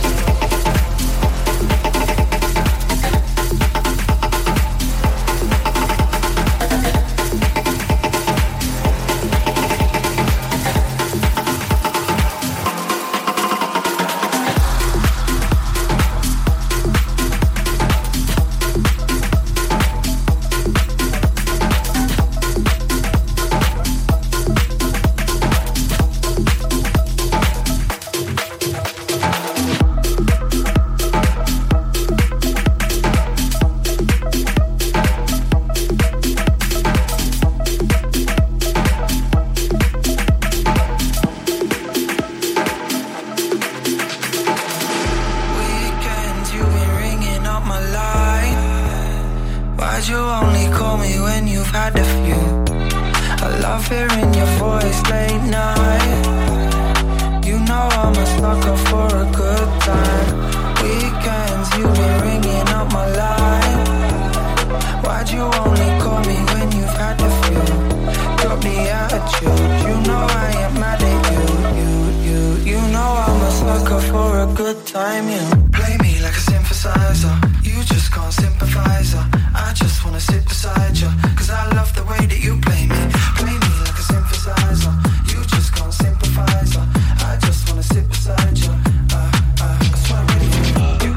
C: Weekends, you've been ringing up my line. Why'd you only call me when you've had a few? I love hearing your voice late night. You know I'm a sucker for a good time. Weekends, you've been ringing up my line. Why'd you only call me when you've had a few? Drop the attitude, you know I ain't mad at you. You, you, you know I'm a sucker for a good time. You play me like a synthesizer. You just can't sympathize. I just wanna sit beside you, cause I love the way that you play me. Play me like a synthesizer. You just can't sympathize. I just wanna sit beside you. Uh, uh, I swear I'm ready for you.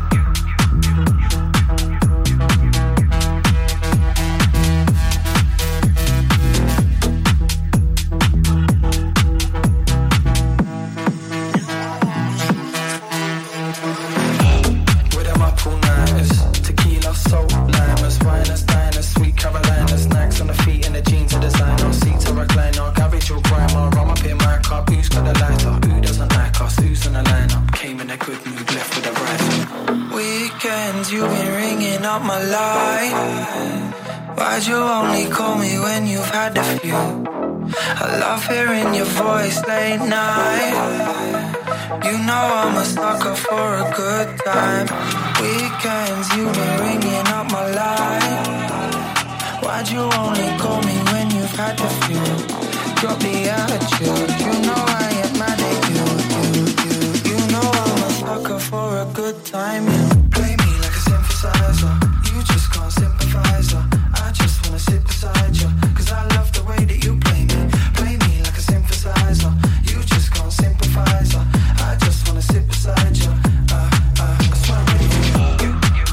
C: With them up all nighters, tequila, salt, limers, winers, diners, sweet Carolina, snacks on the feet and the jeans are designer, seats are recliner, garage or grandma, rum up in my cup, who's got the lighter, who doesn't like us, who's in the lineup, came in a good mood, left with a rifle. Weekends, you've been ringing up my line. Why'd you only call me when you've had a few? I love hearing your voice late night. You know I'm a sucker for a good time. Weekends, you've been ringing up my line. Why'd you only call me when you've had a few? Drop the attitude, you know I ain't mad at you. You, you, you know I'm a sucker for a good time. You play me like a synthesizer. You just can't sympathize. I just wanna sit beside you, cause I love the way that you play me. Play me like a synthesizer. You just can't sympathize. I just wanna sit beside you. Uh, uh, I swear I'm ready for you.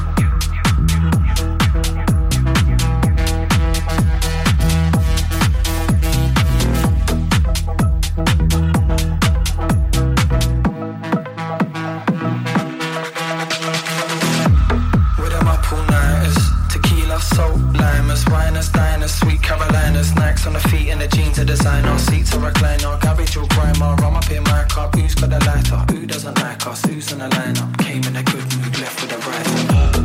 C: With them up all nighters, tequila, salt, limers, winers, diners, sweet Carolina, snacks on the feet and the jeans are designer, seats are recliner, garage or grandma, rum up in my cup, who's got the lighter, who doesn't like us, who's in the lineup, came in a good mood, left with a rifle.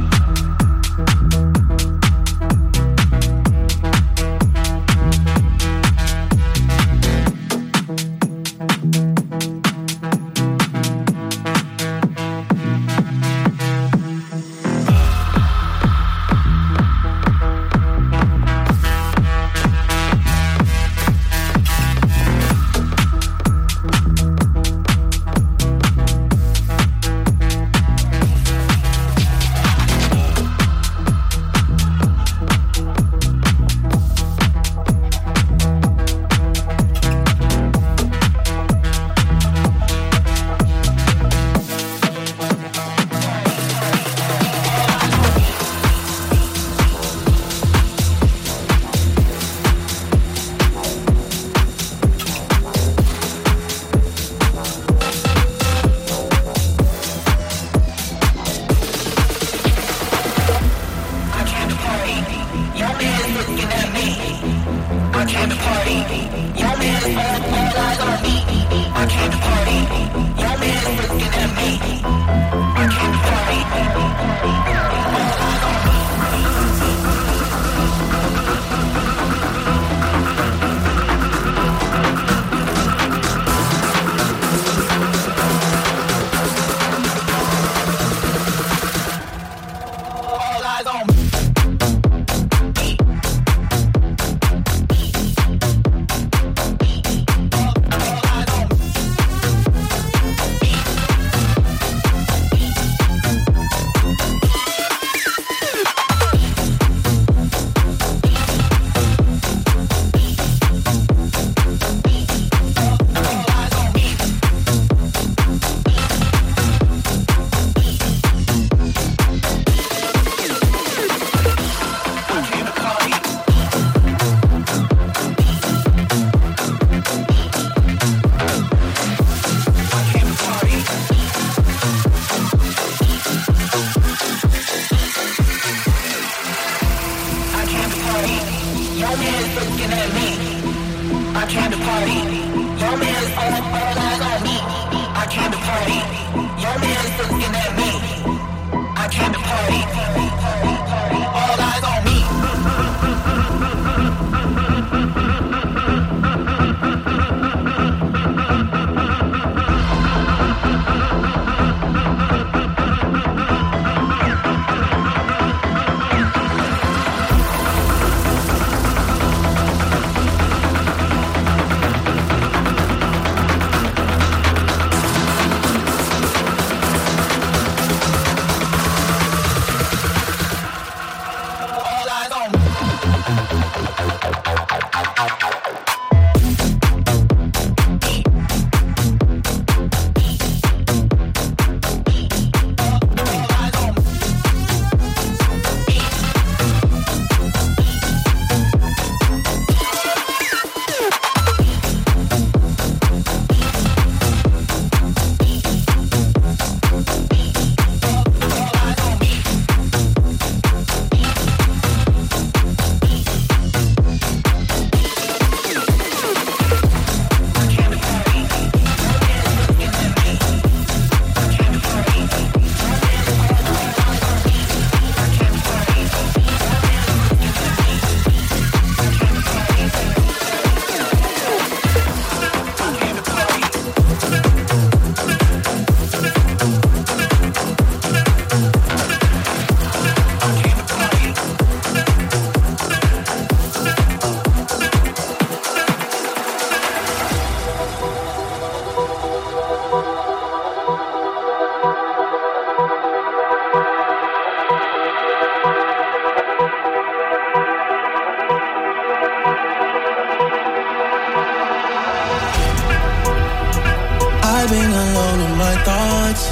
C: Being alone in my thoughts,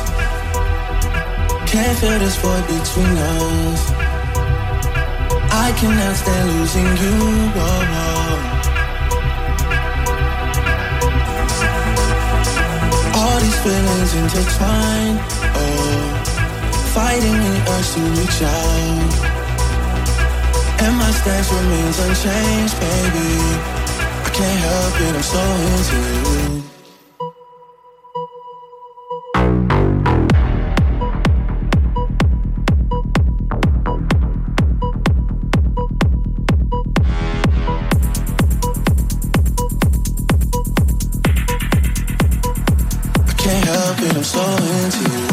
C: can't feel this void between us. I cannot stand losing you. Whoa, whoa. All these feelings intertwined, oh, fighting the urge to reach out, and my stance remains unchanged, baby. I can't help it, I'm so into you. I'm so into you.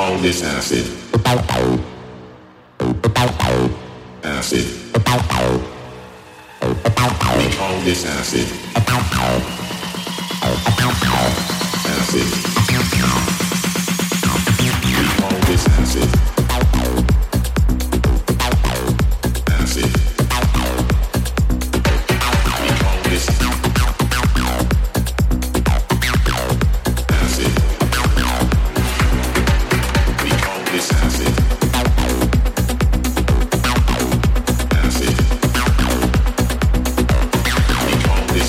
E: call this acid. Acid. We call this acid. Acid. We call this acid. Acid. We call this acid. We call this acid. Acid. We call this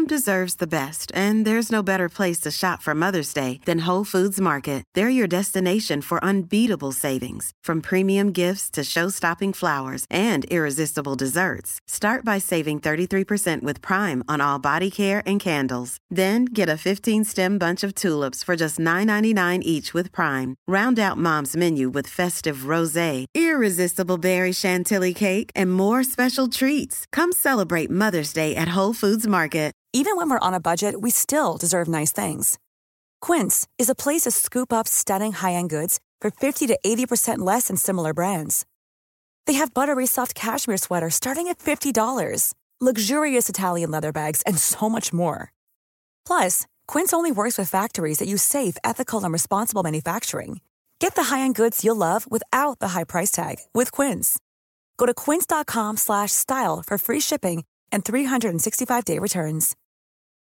F: deserves the best, and there's no better place to shop for Mother's Day than Whole Foods Market. They're your destination for unbeatable savings, from premium gifts to show-stopping flowers and irresistible desserts. Start by saving thirty-three percent with Prime on all body care and candles. Then get a fifteen-stem bunch of tulips for just nine ninety-nine each with Prime. Round out Mom's menu with festive rosé, irresistible berry chantilly cake, and more special treats. Come celebrate Mother's Day at Whole Foods Market.
G: Even when we're on a budget, we still deserve nice things. Quince is a place to scoop up stunning high-end goods for fifty to eighty percent less than similar brands. They have buttery soft cashmere sweaters starting at fifty dollars, luxurious Italian leather bags, and so much more. Plus, Quince only works with factories that use safe, ethical, and responsible manufacturing. Get the high-end goods you'll love without the high price tag with Quince. Go to quince.com slash style for free shipping and three sixty-five day returns.